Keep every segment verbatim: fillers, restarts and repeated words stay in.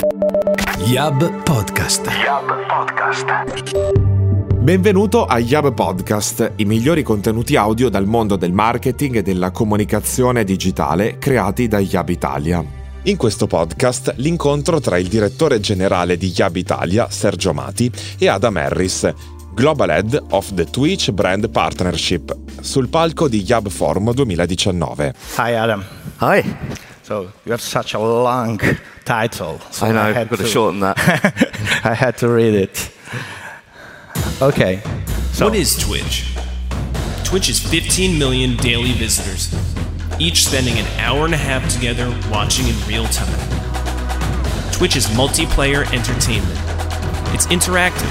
Yab Podcast. Yab Podcast. Benvenuto a Yab Podcast, i migliori contenuti audio dal mondo del marketing e della comunicazione digitale creati da Yab Italia. In questo podcast l'incontro tra il direttore generale di Yab Italia, Sergio Amati, e Adam Harris, Global Head of the Twitch Brand Partnership, sul palco di Yab Forum duemiladiciannove. Hi Adam. Hi. So you have such a long title. So I know, I had I've got to, to shorten that. I had to read it. Okay. So What is Twitch? Twitch is fifteen million daily visitors, each spending an hour and a half together watching in real time. Twitch is multiplayer entertainment. It's interactive.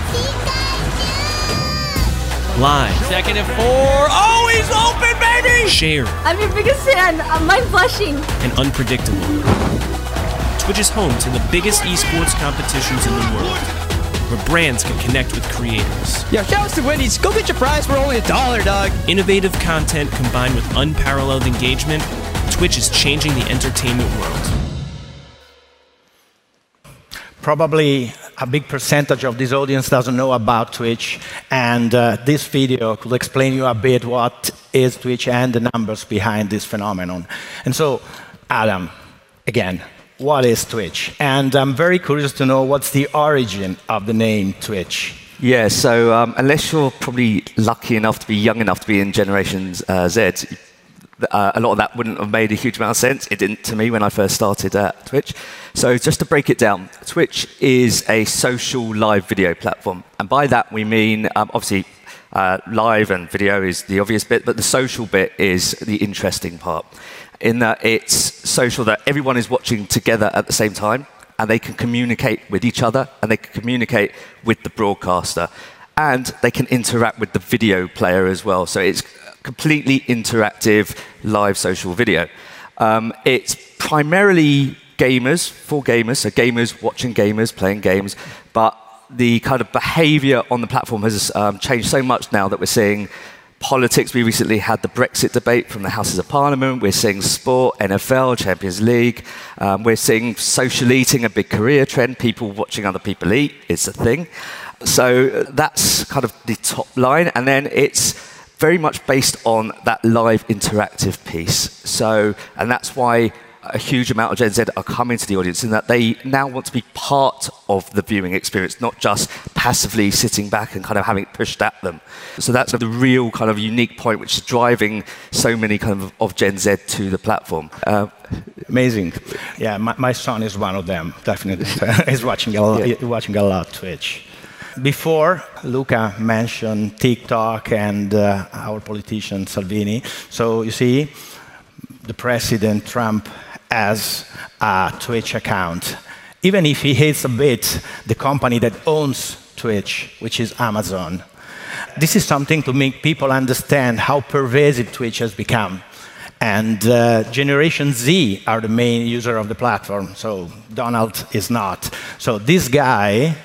Live. Second and four. Oh, he's open, baby! Shared. I'm your biggest fan. I'm mind blushing. And unpredictable. Twitch is home to the biggest esports competitions in the world, where brands can connect with creators. Yo, shout out to Wendy's. Go get your prize for only a dollar, dog. Innovative content combined with unparalleled engagement, Twitch is changing the entertainment world. probably a big percentage of this audience doesn't know about Twitch, and uh, this video could explain you a bit what is Twitch and the numbers behind this phenomenon. And so, Adam, again, what is Twitch? And I'm very curious to know what's the origin of the name Twitch. Yeah, so um, unless you're probably lucky enough to be young enough to be in Generation uh, Z, uh, a lot of that wouldn't have made a huge amount of sense. It didn't to me when I first started at Twitch. So just to break it down, Twitch is a social live video platform. And by that we mean, um, obviously, uh, live and video is the obvious bit, but the social bit is the interesting part. In that it's social that everyone is watching together at the same time, and they can communicate with each other, and they can communicate with the broadcaster, and they can interact with the video player as well. So it's completely interactive live social video. Um, it's primarily gamers, for gamers, so gamers watching gamers, playing games, but the kind of behavior on the platform has um, changed so much now that we're seeing politics. We recently had the Brexit debate from the Houses of Parliament. We're seeing sport, N F L, Champions League. Um, we're seeing social eating, a big career trend. People watching other people eat, it's a thing. So that's kind of the top line. And then it's very much based on that live interactive piece. So, and that's why a huge amount of Gen Z are coming to the audience in that they now want to be part of the viewing experience, not just passively sitting back and kind of having it pushed at them. So that's the real kind of unique point which is driving so many kind of, of Gen Z to the platform. Uh, Amazing. Yeah, my, my son is one of them, definitely. He's watching a lot, Yeah. watching a lot Twitch. Before, Luca mentioned TikTok and uh, our politician Salvini. So you see, the President Trump has a Twitch account, even if he hates a bit the company that owns Twitch, which is Amazon. This is something to make people understand how pervasive Twitch has become. And uh, Generation Z are the main user of the platform, so Donald is not. So this guy,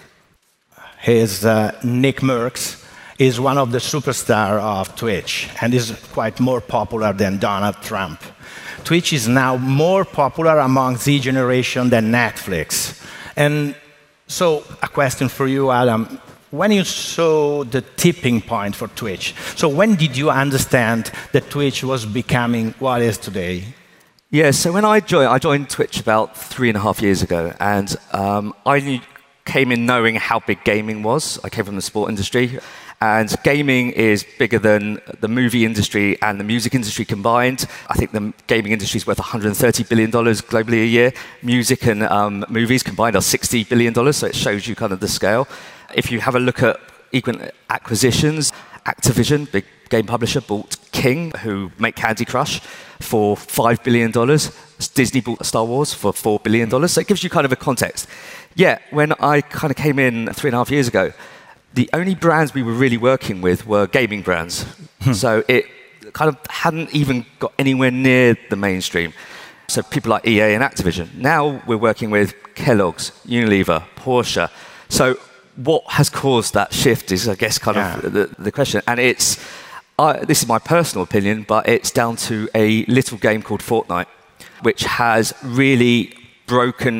his uh, Nick Merckx, is one of the superstars of Twitch and is quite more popular than Donald Trump. Twitch is now more popular among Z generation than Netflix. And so a question for you, Adam. When you saw the tipping point for Twitch, so when did you understand that Twitch was becoming what it is today? Yeah, so when I joined, I joined Twitch about three and a half years ago, and um, I knew, came in knowing how big gaming was. I came from the sport industry, and gaming is bigger than the movie industry and the music industry combined. I think the gaming industry is worth one hundred thirty billion dollars globally a year. Music and um, movies combined are sixty billion dollars, so it shows you kind of the scale. If you have a look at equal acquisitions, Activision, big game publisher, bought King, who make Candy Crush, for five billion dollars. Disney bought Star Wars for four billion dollars. So it gives you kind of a context. Yeah, when I kind of came in three and a half years ago, the only brands we were really working with were gaming brands. So it kind of hadn't even got anywhere near the mainstream. So people like E A and Activision. Now we're working with Kellogg's, Unilever, Porsche. So what has caused that shift is, I guess, kind Yeah. of the, the question. And it's, uh, this is my personal opinion, but it's down to a little game called Fortnite, which has really broken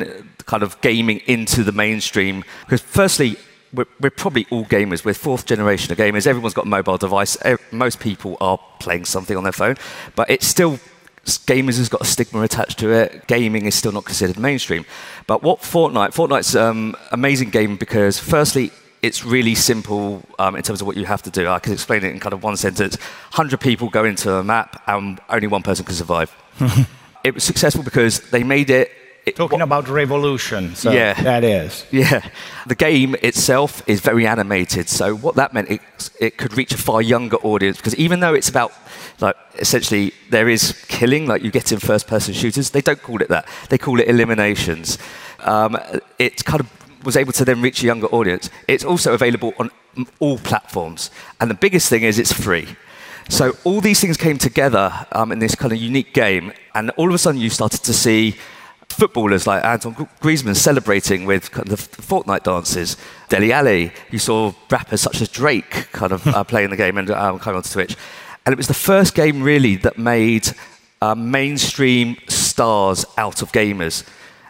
kind of gaming into the mainstream. Because firstly, we're, we're probably all gamers. We're fourth generation of gamers. Everyone's got a mobile device. Most people are playing something on their phone. But it's still, gamers has got a stigma attached to it. Gaming is still not considered mainstream. But what Fortnite, Fortnite's um, amazing game because firstly, it's really simple um, in terms of what you have to do. I can explain it in kind of one sentence. one hundred people go into a map and only one person can survive. It was successful because they made it... it Talking what, about revolution, so yeah, that is. Yeah. The game itself is very animated, so what that meant, it, it could reach a far younger audience, because even though it's about, like, essentially, there is killing, like you get in first-person shooters, they don't call it that. They call it eliminations. Um, it kind of was able to then reach a younger audience. It's also available on all platforms. And the biggest thing is it's free. So all these things came together um, in this kind of unique game, and all of a sudden you started to see footballers like Antoine Griezmann celebrating with kind of the Fortnite dances. Dele Alli, you saw rappers such as Drake kind of uh, playing the game and um, coming onto Twitch. And it was the first game really that made uh, mainstream stars out of gamers.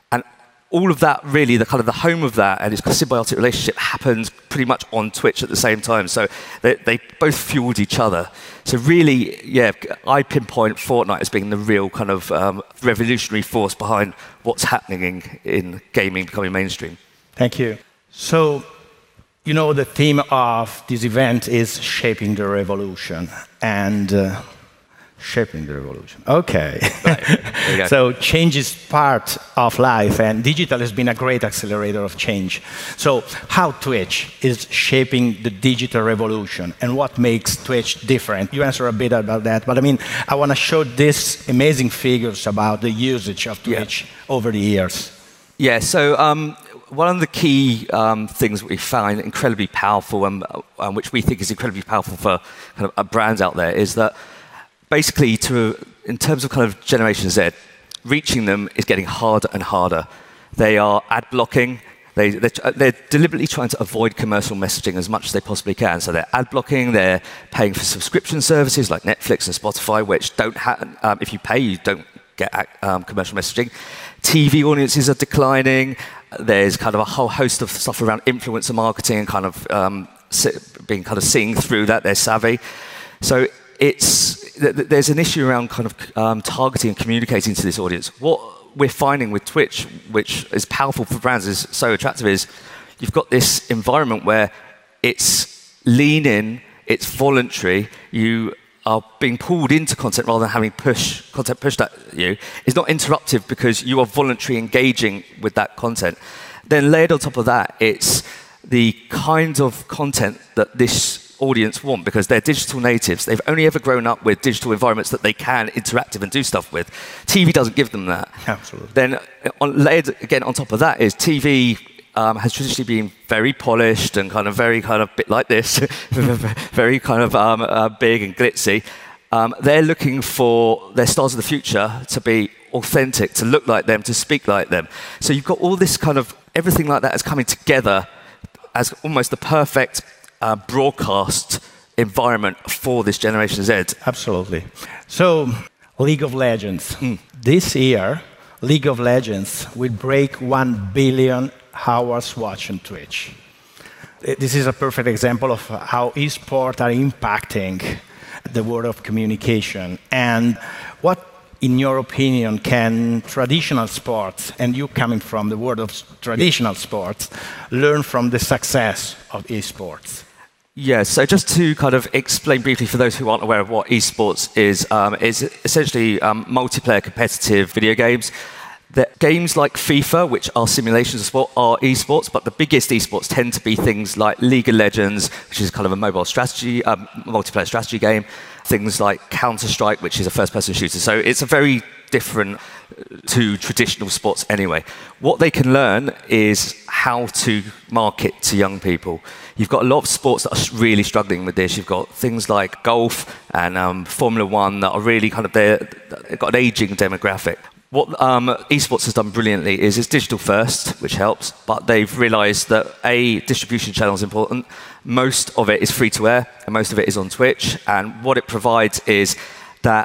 All of that, really, the kind of the home of that and its symbiotic relationship happened pretty much on Twitch at the same time. So they, they both fueled each other. So really, yeah, I pinpoint Fortnite as being the real kind of um, revolutionary force behind what's happening in, in gaming becoming mainstream. Thank you. So, you know, the theme of this event is shaping the revolution. And... Uh, Shaping the revolution. Okay. Right. So change is part of life, and digital has been a great accelerator of change. So how Twitch is shaping the digital revolution, and what makes Twitch different? You answered a bit about that, but I mean, I want to show these amazing figures about the usage of Twitch yeah. over the years. Yeah, so um, one of the key um, things that we find incredibly powerful, and uh, which we think is incredibly powerful for kind of brands out there, is that basically, to, in terms of kind of Generation Z, reaching them is getting harder and harder. They are ad blocking. They, they're, they're deliberately trying to avoid commercial messaging as much as they possibly can. So they're ad blocking. They're paying for subscription services like Netflix and Spotify, which don't have. Um, if you pay, you don't get um, commercial messaging. T V audiences are declining. There's kind of a whole host of stuff around influencer marketing and kind of um, being kind of seeing through that. They're savvy. So it's there's an issue around kind of um, targeting and communicating to this audience. What we're finding with Twitch, which is powerful for brands, is so attractive, is you've got this environment where it's lean in, it's voluntary, you are being pulled into content rather than having push content pushed at you. It's not interruptive because you are voluntarily engaging with that content. Then layered on top of that, it's the kind of content that this audience want, because they're digital natives. They've only ever grown up with digital environments that they can interact and do stuff with. T V doesn't give them that. Absolutely. Then on, layered again on top of that is T V um, has traditionally been very polished and kind of very kind of bit like this, very kind of um, uh, big and glitzy. Um, they're looking for their stars of the future to be authentic, to look like them, to speak like them. So you've got all this kind of, everything like that is coming together as almost the perfect Uh, broadcast environment for this Generation Z. Absolutely. So, League of Legends. Mm. This year, League of Legends will break one billion hours watched on Twitch. This is a perfect example of how esports are impacting the world of communication. And what, in your opinion, can traditional sports, and you coming from the world of traditional sports, learn from the success of esports? Yeah, so just to kind of explain briefly for those who aren't aware of what esports is, um, is essentially um, multiplayer competitive video games. The games like FIFA, which are simulations of sport, are esports, but the biggest esports tend to be things like League of Legends, which is kind of a mobile strategy, um, multiplayer strategy game, things like Counter-Strike, which is a first-person shooter. So it's a very different to traditional sports anyway. What they can learn is how to market to young people. You've got a lot of sports that are really struggling with this. You've got things like golf and um, Formula One that are really kind of there, they've got an aging demographic. What um, esports has done brilliantly is it's digital first, which helps, but they've realized that A, distribution channel is important. Most of it is free to air, and most of it is on Twitch. And what it provides is that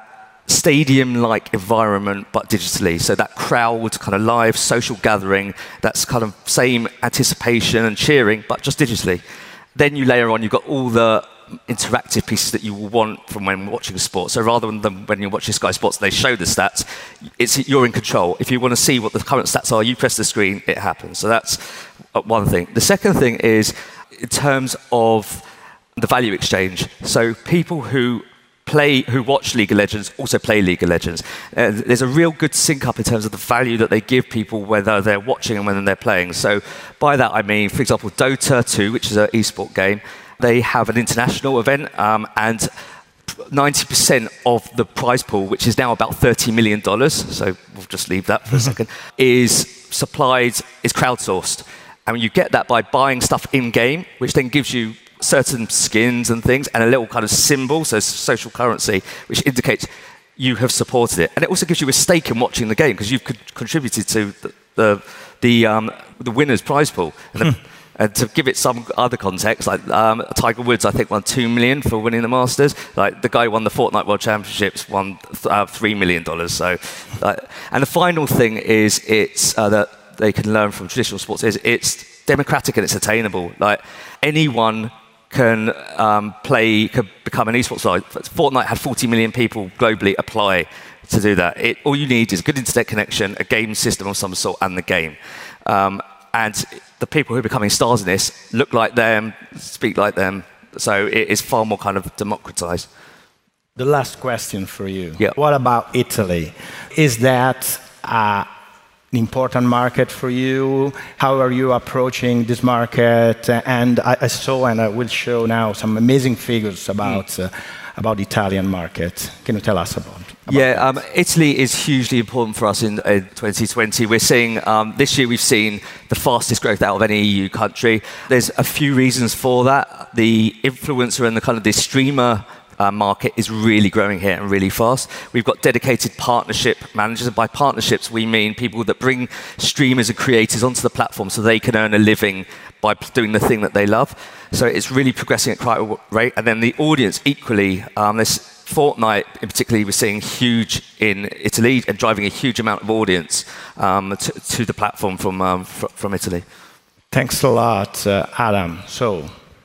stadium-like environment, but digitally. So that crowd, kind of live social gathering, that's kind of same anticipation and cheering, but just digitally. Then you layer on, you've got all the interactive pieces that you will want from when watching a sport. So rather than when you're watching Sky Sports, they show the stats, it's, you're in control. If you want to see what the current stats are, you press the screen, it happens. So that's one thing. The second thing is in terms of the value exchange. So people who play, who watch League of Legends also play League of Legends. Uh, there's a real good sync up in terms of the value that they give people, whether they're watching and whether they're playing. So by that I mean, for example, Dota two, which is an esport game, they have an international event, um, and ninety percent of the prize pool, which is now about thirty million dollars, so we'll just leave that for a second, is supplied, is crowdsourced. And you get that by buying stuff in-game, which then gives you certain skins and things, and a little kind of symbol, so social currency, which indicates you have supported it. And it also gives you a stake in watching the game, because you've contributed to the the, the, um, the winner's prize pool. And the, And to give it some other context, like um, Tiger Woods, I think, won two million dollars for winning the Masters. Like the guy who won the Fortnite World Championships won uh, three million dollars. So, uh, and the final thing is, it's uh, that they can learn from traditional sports is it's democratic and it's attainable. Like anyone can um, play, can become an esports star. Fortnite had forty million people globally apply to do that. It, all you need is a good internet connection, a game system of some sort, and the game. Um, and the people who are becoming stars in this look like them, speak like them, so it is far more kind of democratized. The last question for you. Yeah. What about Italy? Is that uh, an important market for you? How are you approaching this market? And I, I saw, and I will show now, some amazing figures about mm. uh, about the Italian market. Can you tell us about? about yeah, um, Italy is hugely important for us in, in twenty twenty. We're seeing um, this year we've seen the fastest growth out of any E U country. There's a few reasons for that. The influencer and the kind of the streamer Uh, market is really growing here and really fast. We've got dedicated partnership managers, and by partnerships we mean people that bring streamers and creators onto the platform so they can earn a living by doing the thing that they love. So it's really progressing at quite a rate. And then the audience equally, um, there's Fortnite in particular, we're seeing huge in Italy and driving a huge amount of audience um, to, to the platform from, um, fr- from Italy. Thanks a lot, uh, Adam. So,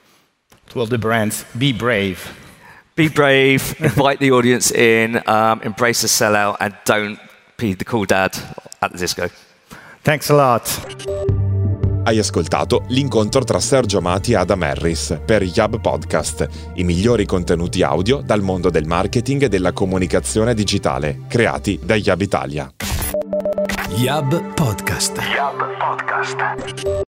to all the brands, be brave. Be brave, invite the audience in, um, embrace the sellout, and don't be the cool dad at the disco. Thanks a lot. Hai ascoltato l'incontro tra Sergio Amati e Adam Harris per Yab Podcast, i migliori contenuti audio dal mondo del marketing e della comunicazione digitale, creati da Yab Italia. Yab Podcast. Yab Podcast.